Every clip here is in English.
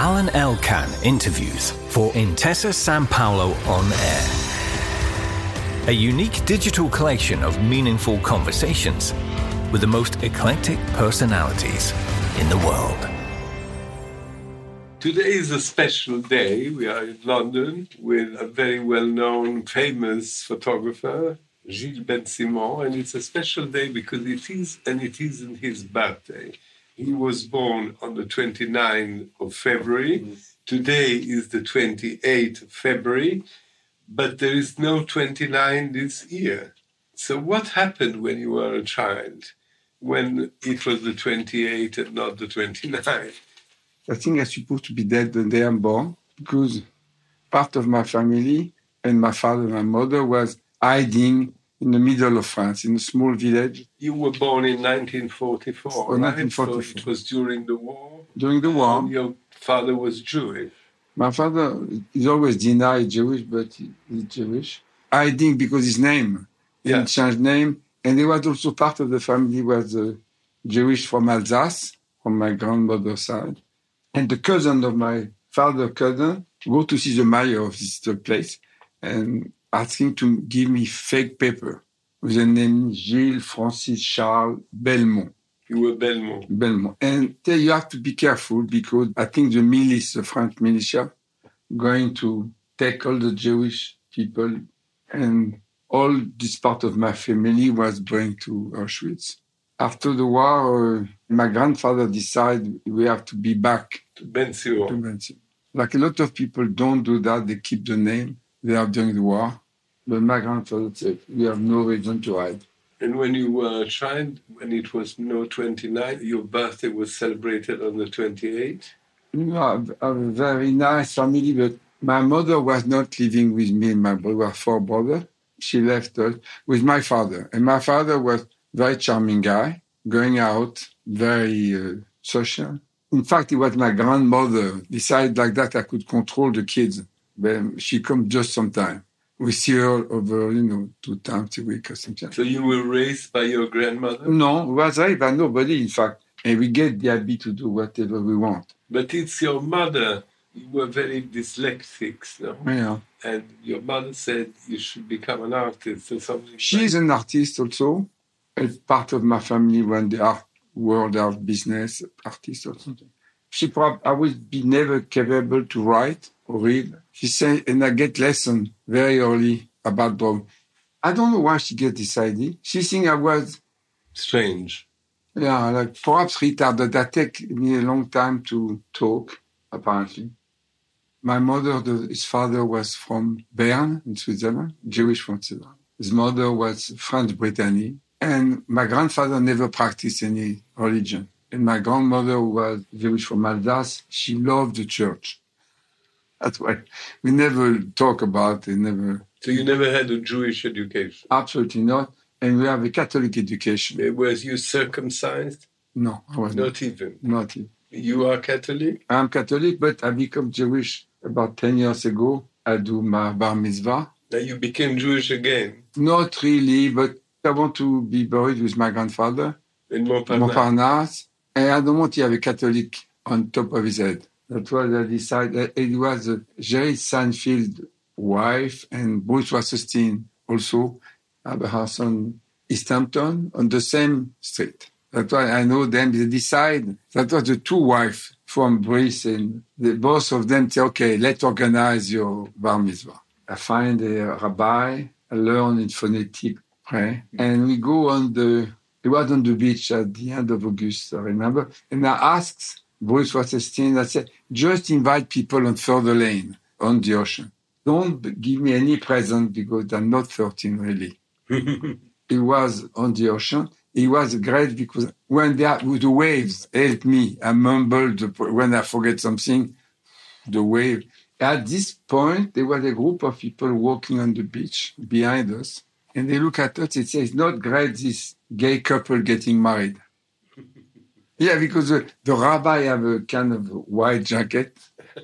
Alan Elkan interviews for Intesa Sanpaolo On Air. A unique digital collection of meaningful conversations with the most eclectic personalities in the world. Today is a special day. We are in London with a very well-known, famous photographer, Gilles Ben-Simon, and it's a special day because it isn't his birthday. He was born on the 29th of February. Today is the 28th of February, but there is no 29 this year. So what happened when you were a child, when it was the 28th and not the 29th? I think I'm supposed to be dead the day I'm born because part of my family and my father and my mother was hiding in the middle of France, in a small village. You were born in 1944, right? 1944. So it was during the war? During the war. And your father was Jewish? My father is always denied Jewish, but he's Jewish. Hiding because his name. He changed name. And he was also part of the family was Jewish from Alsace, from my grandmother's side. And the cousin of my father's cousin go to see the mayor of this place and asking to give me fake paper with the name Gilles Francis Charles Belmont. You were Belmont. Belmont. And there you have to be careful because I think the milice, the French militia, going to take all the Jewish people and all this part of my family was going to Auschwitz. After the war, my grandfather decided we have to be back to Ben-Simon. Like a lot of people don't do that, they keep the name they have during the war. But my grandfather said, we have no reason to hide. And when you were a child, when it was no 29, your birthday was celebrated on the 28th? You know, I have a very nice family, but my mother was not living with me and my brother. We were four brothers. She left us with my father. And my father was a very charming guy, going out, very social. In fact, it was my grandmother decided like that I could control the kids. But she comes just sometimes. We see her over, 2 times a week or something. So you were raised by your grandmother? No, we was raised by nobody, in fact. And we get the ability to do whatever we want. But it's your mother. You were very dyslexic, no? Yeah. And your mother said you should become an artist or something. She's an artist also. It's part of my family when the art world of business, artist or something. I would be never capable to write or read. She said, and I get lessons very early about drawing. I don't know why she get this idea. She think I was strange. Yeah, like perhaps retarded. That take me a long time to talk, apparently. My mother, his father was from Bern in Switzerland, Jewish from Switzerland. His mother was French Brittany. And my grandfather never practiced any religion. And my grandmother was Jewish from Alsace. She loved the church. That's why we never talk about it. So you never had a Jewish education? Absolutely not. And we have a Catholic education. Was you circumcised? No, I was not. Not even? Not even. You are Catholic? I'm Catholic, but I became Jewish about 10 years ago. I do my bar mitzvah. Now you became Jewish again? Not really, but I want to be buried with my grandfather. In Montparnasse. And I don't want to have a Catholic on top of his head. That's why I decided. It was Jerry Seinfeld's wife and Bruce Wasserstein also have a house on East Hampton on the same street. That's why I know them. They decide. That was the two wives from Bruce, and both of them say, okay, let's organize your bar mitzvah. I find a rabbi, I learn in phonetic prayer, and we go it was on the beach at the end of August, I remember. And I asked Bruce Wasserstein, I said, just invite people on Further Lane, on the ocean. Don't give me any present because I'm not 13, really. It was on the ocean. It was great because when the waves helped me, I mumbled when I forget something, the wave. At this point, there was a group of people walking on the beach behind us. And they look at us and say, it's not great, this gay couple getting married. Yeah, because the rabbi have a kind of white jacket.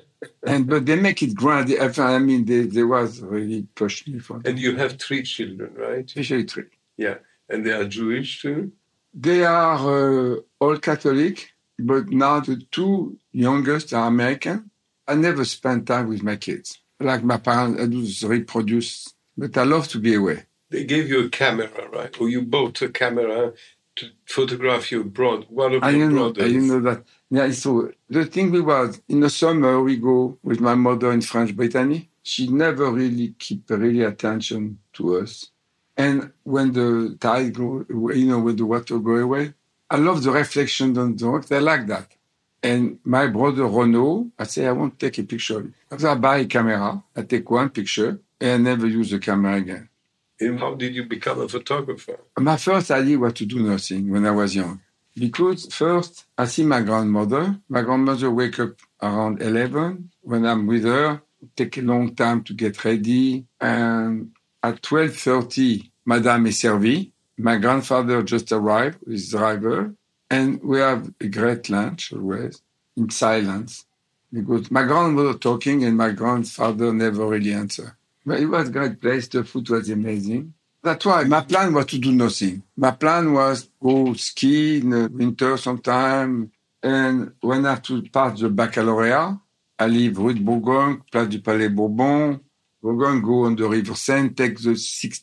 But they make it grand. I mean, they was really pushing me for them. And you have 3 children, right? Especially 3. Yeah. And they are Jewish too? They are all Catholic, but now the 2 youngest are American. I never spend time with my kids. Like my parents, I do reproduce, but I love to be away. They gave you a camera, right? Or you bought a camera to photograph your one of your brothers. You know that. Yeah, so the thing was, in the summer, we go with my mother in French Brittany. She never really keep really attention to us. And when the tide go, when the water go away, I love the reflection on the rocks. I like that. And my brother Renaud, I say, I want to take a picture. After I buy a camera, I take one picture, and I never use the camera again. And how did you become a photographer? My first idea was to do nothing when I was young. Because first, I see my grandmother. My grandmother wake up around 11. When I'm with her, take a long time to get ready. And at 12:30, Madame est servie. My grandfather just arrived with his driver. And we have a great lunch always, in silence. Because my grandmother talking and my grandfather never really answer. But it was a great place. The food was amazing. That's why my plan was to do nothing. My plan was go ski in the winter sometime. And when I have to pass the baccalaureate, I leave Rue de Bourgogne, Place du Palais Bourbon, Bourgogne, go on the River Seine, take the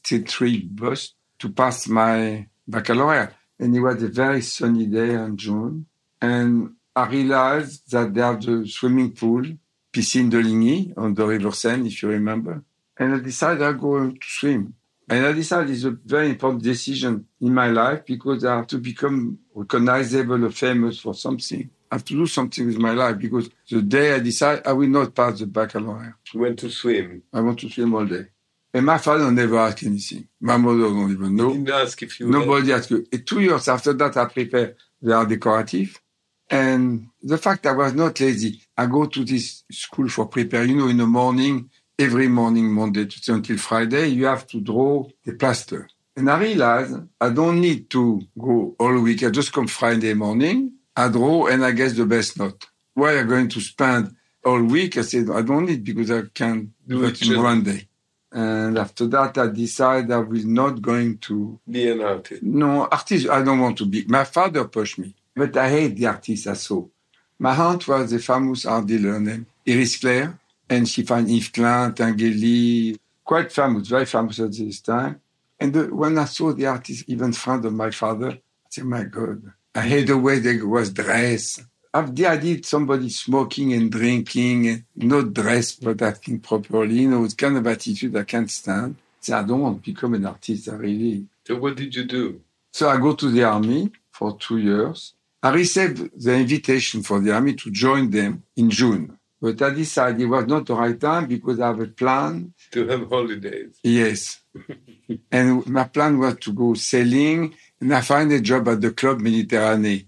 63 bus to pass my baccalaureate. And it was a very sunny day in June. And I realized that they have the swimming pool, Piscine de Ligny, on the River Seine, if you remember. And I decided I'll go to swim. And I decided it's a very important decision in my life because I have to become recognizable or famous for something. I have to do something with my life because the day I decide I will not pass the baccalaureate. You went to swim. I want to swim all day. And my father never asked anything. My mother don't even know. He didn't ask if you... Nobody asked you. 2 years after that, I prepared the art decorative. And the fact I was not lazy, I go to this school for prepare. In the morning, every morning, Monday to until Friday, you have to draw the plaster. And I realized I don't need to go all week. I just come Friday morning, I draw, and I guess the best note. Why am I going to spend all week? I said, I don't need because I can do it in one day. And after that, I decided I was not going to... Be an artist. No, artist, I don't want to be. My father pushed me. But I hate the artists I saw. My aunt was a famous art dealer named Iris Claire. And she found Yves Klein, Tinguely, quite famous, very famous at this time. And when I saw the artist, even friend of my father, I said, my God, I hate the way they was dressed. I did somebody smoking and drinking, and not dressed, but acting properly. It's kind of attitude I can't stand. So I don't want to become an artist, I really. So what did you do? So I go to the army for 2 years. I received the invitation for the army to join them in June. But I decided it was not the right time because I have a plan. To have holidays. Yes. And my plan was to go sailing, and I find a job at the Club Méditerranée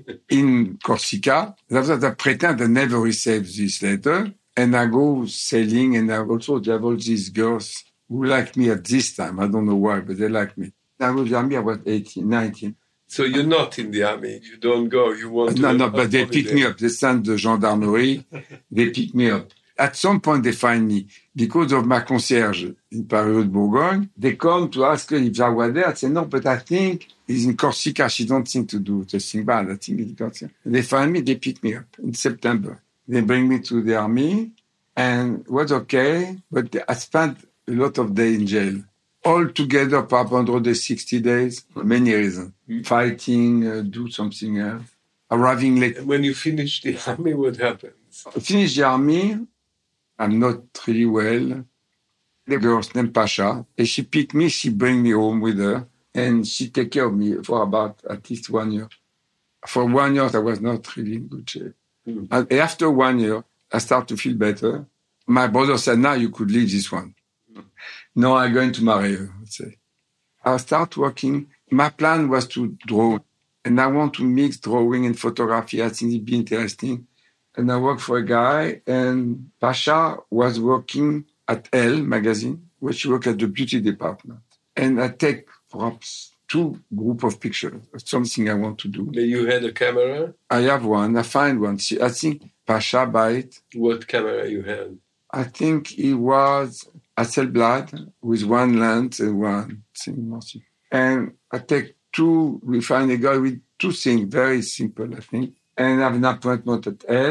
in Corsica. I pretend I never received this letter, and I go sailing, and I also have all these girls who like me at this time. I don't know why, but they like me. I was young, I was 18, 19. So you're not in the army. You don't go. You want to... No, but they pick me up. They send the gendarmerie. They pick me up. At some point, they find me. Because of my concierge in Paris de Bourgogne, they come to ask if I was there. I say, no, but I think he's in Corsica. She don't think to do the thing bad. I think it's Corsica. They find me. They pick me up in September. They bring me to the army. And it was okay. But I spent a lot of days in jail. All together, perhaps 160 days, for many reasons. Fighting, do something else, arriving late. And when you finish the army, what happens? I finish the army, I'm not really well. The girl's named Pasha, and she picked me, she bring me home with her, and she take care of me for about at least 1 year. For 1 year, I was not really in good shape. And after 1 year, I start to feel better. My brother said, now you could leave this one. No, I'm going to marry her, I'd say. I start working. My plan was to draw, and I want to mix drawing and photography. I think it'd be interesting. And I worked for a guy, and Pasha was working at Elle magazine, where she worked at the beauty department. And I take perhaps 2 groups of pictures of something I want to do. You had a camera? I have one. I find one. I think Pasha buy it. What camera you had? I think it was Hasselblad with 1 lens and 1 thing. And I take 2, we find a guy with 2 things, very simple, I think. And I have an appointment at Elle.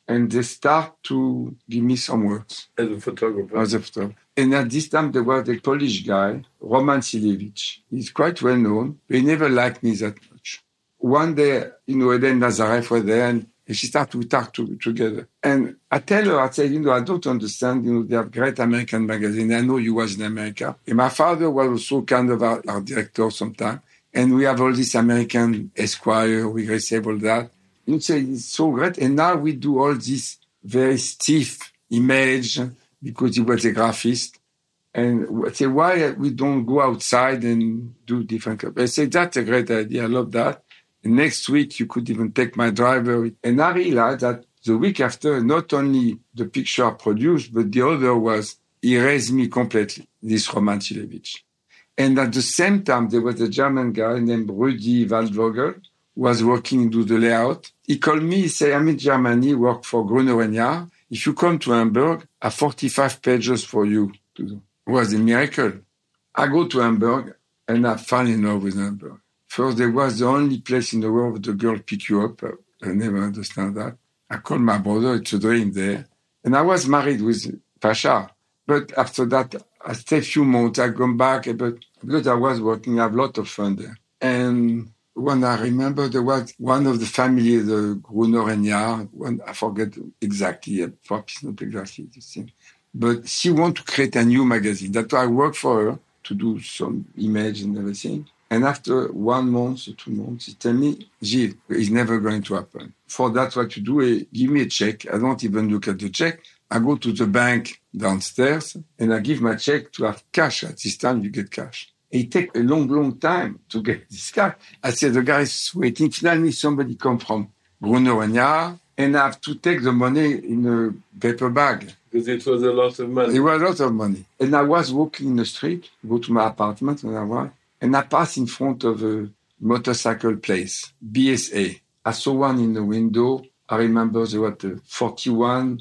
and they start to give me some works. As a photographer. And at this time, there was a Polish guy, Roman Silevich. He's quite well known, but he never liked me that much. One day, Eden Nazareth was there, and she started to talk together. And I tell her, I say, I don't understand, they have great American magazines. I know you was in America. And my father was also kind of our director sometime. And we have all this American Esquire, we receive all that. You say, it's so great. And now we do all this very stiff image because he was a graphist. And I say, why we don't go outside and do different stuff? I say, that's a great idea. I love that. And next week, you could even take my driver. And I realized that the week after, not only the picture I produced, but the other was, he raised me completely, this Roman Silevich. And at the same time, there was a German guy named Rudi Waldvogel, who was working to do the layout. He called me, he said, I'm in Germany, work for Gruner & Jahr. If you come to Hamburg, I have 45 pages for you to do. It was a miracle. I go to Hamburg, and I fall in love with Hamburg. First, there was the only place in the world where the girl pick you up. I never understand that. I called my brother, it's a dream there. And I was married with Pasha. But after that, I stayed a few months, I come back, but because I was working, I have a lot of fun there. And when I remember, there was one of the family, the Gruner & Jahr, I forget exactly, perhaps not exactly the same. But she wanted to create a new magazine. That's why I worked for her to do some image and everything. And after 1 month or 2 months, he told me, Gilles, it's never going to happen. For that, what you do is give me a check. I don't even look at the check. I go to the bank downstairs and I give my check to have cash. At this time, you get cash. It takes a long, long time to get this cash. I said, the guy is waiting. Finally, somebody come from Gruner & Jahr and I have to take the money in a paper bag. Because it was a lot of money. It was a lot of money. And I was walking in the street, go to my apartment, and I passed in front of a motorcycle place, BSA. I saw one in the window. I remember there was a 41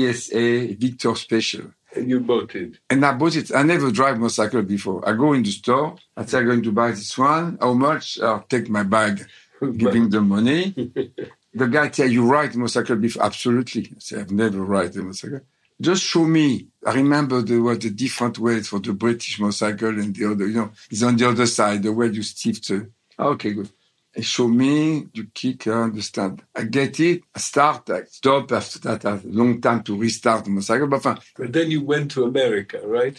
BSA Victor Special. And you bought it? And I bought it. I never drive motorcycle before. I go in the store. I say, I'm going to buy this one. How much? I'll take my bag, giving the money. The guy said, you ride motorcycle before? Absolutely. I said, I've never ride a motorcycle. Just show me. I remember there was a different way for the British motorcycle and the other, it's on the other side, the way you stiff the... Okay, good. Show me, you kick, I understand. I get it, I start, I stop. After that, I have a long time to restart the motorcycle. But then you went to America, right?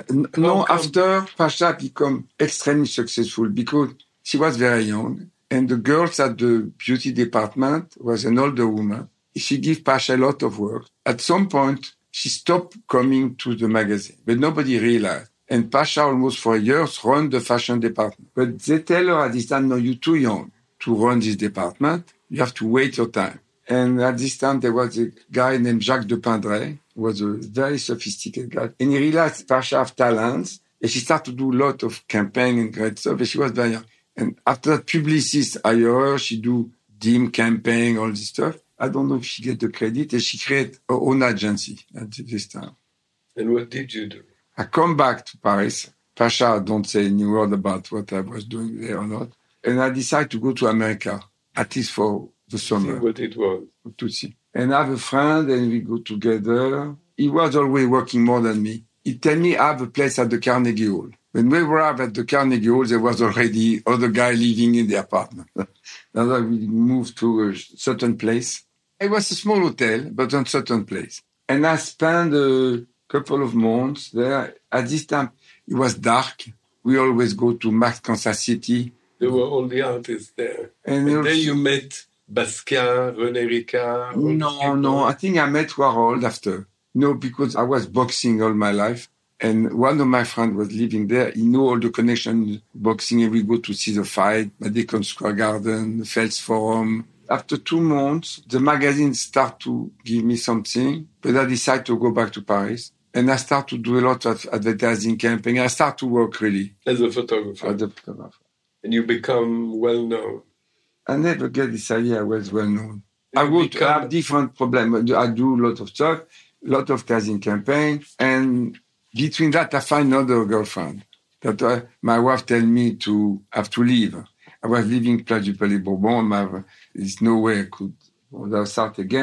No, after Pasha became extremely successful because she was very young. And the girls at the beauty department was an older woman. She gave Pasha a lot of work. At some point, she stopped coming to the magazine, but nobody realized. And Pasha almost for years run the fashion department. But they tell her at this time, no, you're too young to run this department. You have to wait your time. And at this time, there was a guy named Jacques de Pindray, who was a very sophisticated guy. And he realized Pasha have talents. And she started to do a lot of campaign and great stuff. And she was very young. And after that, publicists hire her. She do DIM campaign, all this stuff. I don't know if she get the credit. And she created her own agency at this time. And what did you do? I come back to Paris. Pasha don't say any word about what I was doing there or not. And I decide to go to America, at least for the summer. See what it was. To see. And I have a friend and we go together. He was always working more than me. He tell me I have a place at the Carnegie Hall. When we arrived at the Carnegie Hall, there was already other guy living in the apartment. Now we moved to a certain place. It was a small hotel, but on a certain place. And I spent couple of months there. At this time, it was dark. We always go to Max Kansas City. There were all the artists there. And then you met Basquiat, René Ricard. No. I think I met Warhol after. No, because I was boxing all my life. And one of my friends was living there. He knew all the connections boxing. And we go to see the fight, Madison Square Garden, the Fels Forum. After 2 months, the magazine start to give me something. But I decided to go back to Paris. And I start to do a lot of advertising campaign. I start to work really. As a photographer? As a photographer. And you become well-known? I never get this idea I was well-known. I have different problems. I do a lot of stuff, a lot of casting campaign. And between that, I find another girlfriend. That my wife tell me to have to leave. I was living Place du Palais Bourbon. There's no way I could start again.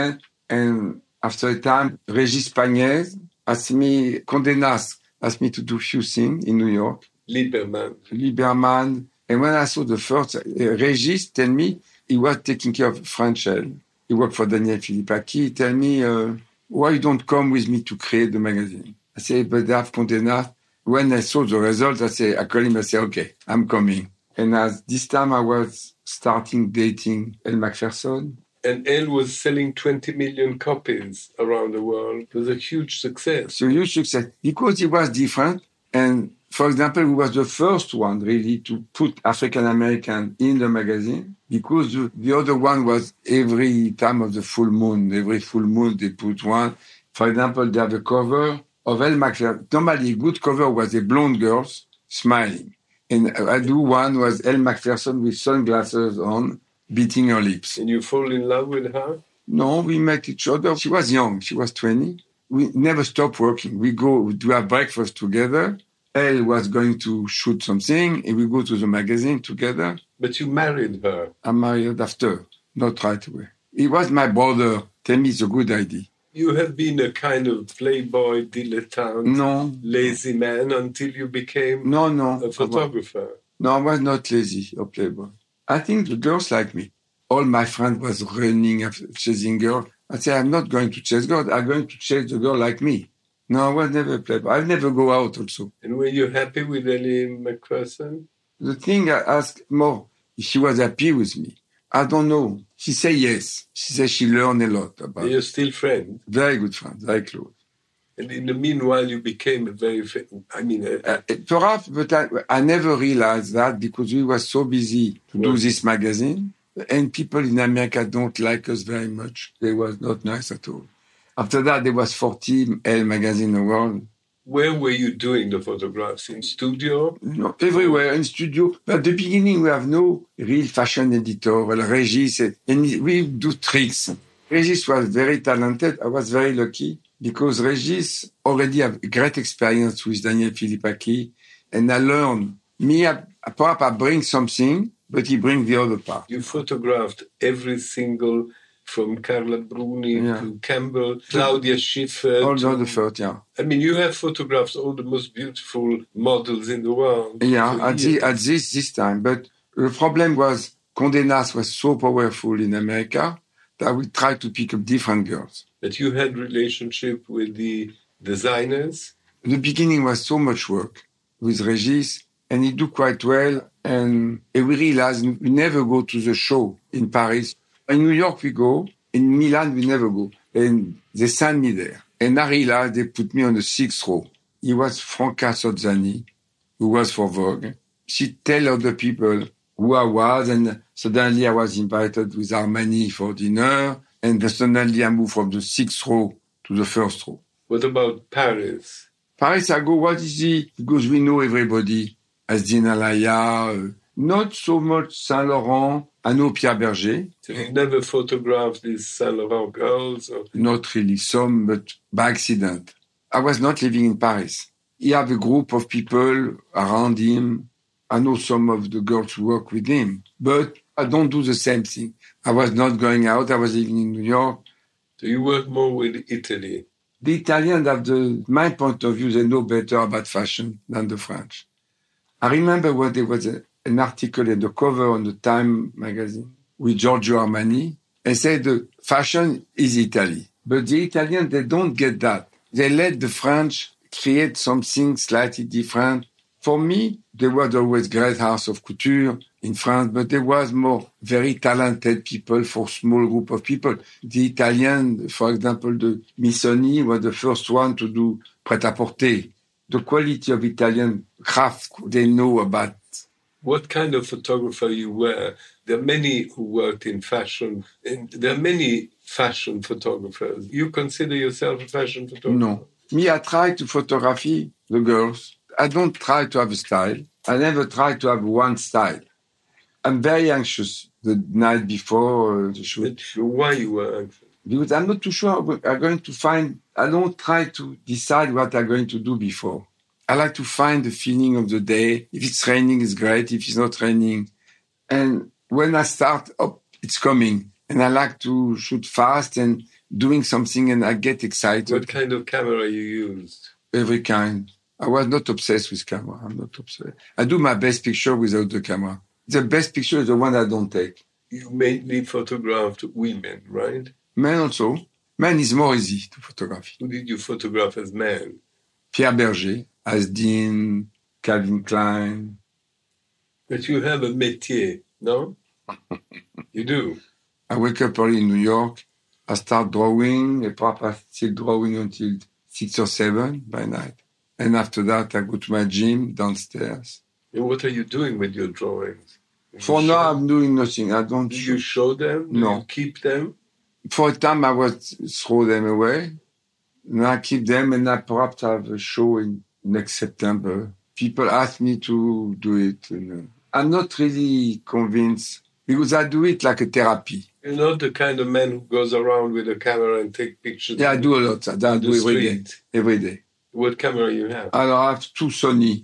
And after a time, Régis Pagnès Condé Nast asked me to do a few things in New York. Lieberman. And when I saw the first, Régis tell me he was taking care of French L. He worked for Daniel Philippaki. He tell me, why you don't come with me to create the magazine? I say, but I have Condé Nast. When I saw the results, I call him, I say, okay, I'm coming. And as this time I was starting dating Elle Macpherson. And Elle was selling 20 million copies around the world. It was a huge success. It's a huge success because it was different. And for example, we was the first one really to put African American in the magazine because the other one was every time of the full moon. Every full moon they put one. For example, they have a cover of Elle Macpherson. Normally, a good cover was a blonde girl smiling. And I do one was Elle Macpherson with sunglasses on, beating her lips. And you fall in love with her? No, we met each other. She was young. She was 20. We never stopped working. We go to have breakfast together. Elle was going to shoot something, and we go to the magazine together. But you married her? I married after, not right away. He was my brother. Tell me it's a good idea. You have been a kind of playboy, dilettante, lazy man until you became a photographer. I was not lazy or playboy. I think the girls like me. All my friends was running after chasing girls. I said, I'm not going to chase girls. I'm going to chase the girl like me. No, I was never a playboy. I'll never go out also. And were you happy with Elle Macpherson? The thing I asked more, if she was happy with me. I don't know. She said yes. She said she learned a lot about it. You're still friends? Very good friends, very close. And in the meanwhile, you became a very, perhaps, but I never realized that because we were so busy to do this magazine. And people in America don't like us very much. They was not nice at all. After that, there was 40 Elle magazine in the world. Where were you doing the photographs? In studio? No, everywhere, in studio. But at the beginning, we have no real fashion editor. Well, Régis, and we do tricks. Régis was very talented. I was very lucky because Régis already have great experience with Daniel Philippaki. And I learned. Perhaps I bring something, but he brings the other part. You photographed every single, from Carla Bruni to Campbell, Claudia Schiffer. All the first, yeah. I mean, you have photographed all the most beautiful models in the world. Yeah, at this time. But the problem was Condé Nast was so powerful in America that we tried to pick up different girls. But you had relationship with the designers? The beginning was so much work with Régis, and he do quite well. And we realized we never go to the show in Paris. In New York, we go. In Milan, we never go. And they sent me there. And I realized they put me on the 6th row. It was Franca Sozzani, who was for Vogue. She tell other people who I was, and suddenly I was invited with Armani for dinner, and suddenly I moved from the 6th row to the 1st row. What about Paris? Paris, I go, what is it? Because we know everybody. Asdine Alaya, not so much Saint Laurent. I know Pierre Berger. So you never photographed these Saint Laurent girls? Or? Not really, some, but by accident. I was not living in Paris. He had a group of people around him. I know some of the girls who work with him, but I don't do the same thing. I was not going out. I was living in New York. So you work more with Italy? The Italians have my point of view, they know better about fashion than the French. I remember when there was an article at the cover on the Time magazine with Giorgio Armani and said the fashion is Italy. But the Italians, they don't get that. They let the French create something slightly different. For me, there was always great house of couture in France, but there was more very talented people for small group of people. The Italian, for example, the Missoni was the first one to do prêt-à-porter. The quality of Italian craft they know about. What kind of photographer you were? There are many who worked in fashion, and there are many fashion photographers. You consider yourself a fashion photographer? No. Me, I try to photography the girls. I don't try to have a style. I never try to have one style. I'm very anxious the night before the shoot. But why you were anxious? Because I'm not too sure I'm going to find... I don't try to decide what I'm going to do before. I like to find the feeling of the day. If it's raining, it's great. If it's not raining. And when I start, it's coming. And I like to shoot fast. And doing something and I get excited. What kind of camera you used? Every kind. I was not obsessed with camera. I'm not obsessed. I do my best picture without the camera. The best picture is the one I don't take. You mainly photographed women, right? Men also. Men is more easy to photograph. Who did you photograph as men? Pierre Berger, Asdin, Calvin Klein. But you have a métier, no? You do. I wake up early in New York. I start drawing. And perhaps I still drawing until 6 or 7 by night. And after that, I go to my gym downstairs. And what are you doing with your drawings? For now, I'm doing nothing. I don't. Do you show them? Do No. you keep them? For a time, I would throw them away. Now I keep them, and I perhaps have a show in next September. People ask me to do it. And, I'm not really convinced because I do it like a therapy. You're not the kind of man who goes around with a camera and take pictures. Yeah, I do a lot. I do every day. Street. Every day. What camera you have? I have 2 Sony,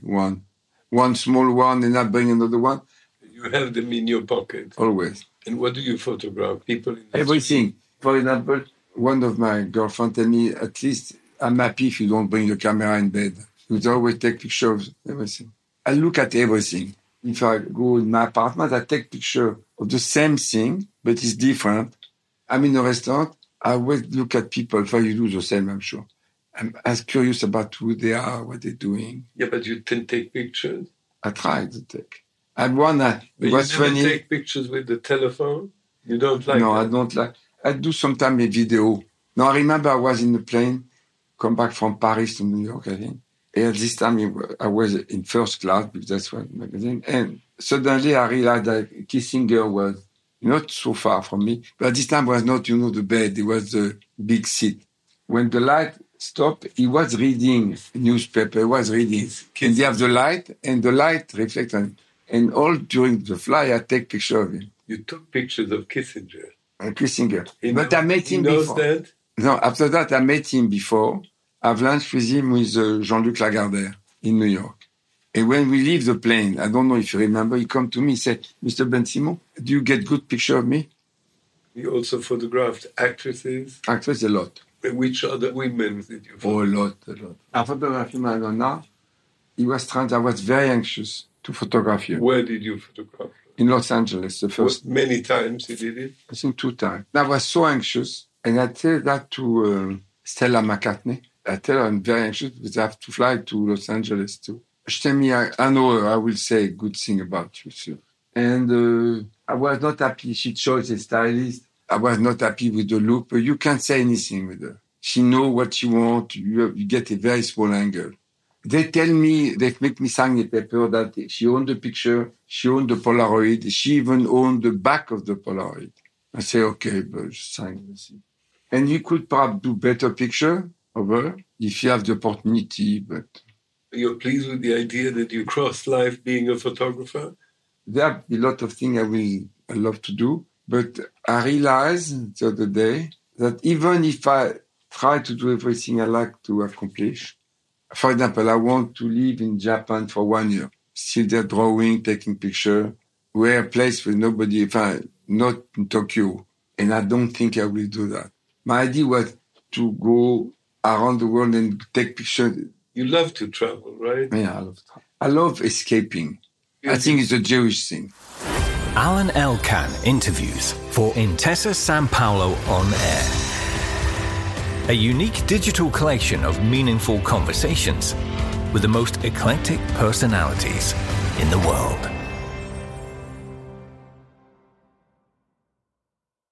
one small one, and I bring another one. You have them in your pocket. Always. And what do you photograph? People in the Everything. For example, one of my girlfriends told me, at least I'm happy if you don't bring the camera in bed. You always take pictures of everything. I look at everything. If I go in my apartment, I take picture of the same thing, but it's different. I'm in a restaurant. I always look at people. If you do the same, I'm sure. I'm as curious about who they are, what they're doing. Yeah, but you can take pictures. I try to take. I had one that But was you never funny. take pictures with the telephone? You don't like No, that? I don't like. I do sometimes a video. No, I remember I was in the plane, come back from Paris to New York, I think. And this time I was in first class because that's what magazine. And suddenly I realized that Kissinger was not so far from me. But this time was not, the bed. It was the big seat. When the light stopped, he was reading a newspaper. He was reading. And they have the light, and the light reflects on it. And all during the flight, I take picture of him. You took pictures of Kissinger. Kissinger. But I met him he knows before. that? No, after that, I met him before. I've lunch with him with Jean-Luc Lagardère in New York. And when we leave the plane, I don't know if you remember, he come to me, he said, Mr. Ben-Simon, do you get good picture of me? You also photographed actresses. Actress, a lot. Which other women did you Oh, photograph? a lot. I photographed Madonna. I was very anxious to photograph you. Where did you photograph? In Los Angeles, the first, Many times you did it. I think 2 times. I was so anxious, and I tell that to Stella McCartney. I tell her I'm very anxious because I have to fly to Los Angeles too. She tell me, I know her, I will say a good thing about you, sir. And I was not happy. She chose a stylist. I was not happy with the look, but you can't say anything with her. She know what she wants. You get a very small angle. They tell me, they make me sign a paper that she owned the picture, she owned the Polaroid, she even owned the back of the Polaroid. I say, okay, but sign this. And you could perhaps do better picture of her if you have the opportunity, but You're pleased with the idea that you crossed life being a photographer? there are a lot of things I love to do, but I realized the other day that even if I try to do everything I like to accomplish, for example, I want to live in Japan for 1 year, still there drawing, taking picture, where a place with nobody, not in Tokyo, and I don't think I will do that. My idea was to go around the world and take pictures. You love to travel, right? Yeah, I love escaping. I think it's a Jewish thing. Alan Elkan interviews for Intesa Sanpaolo On Air. A unique digital collection of meaningful conversations with the most eclectic personalities in the world.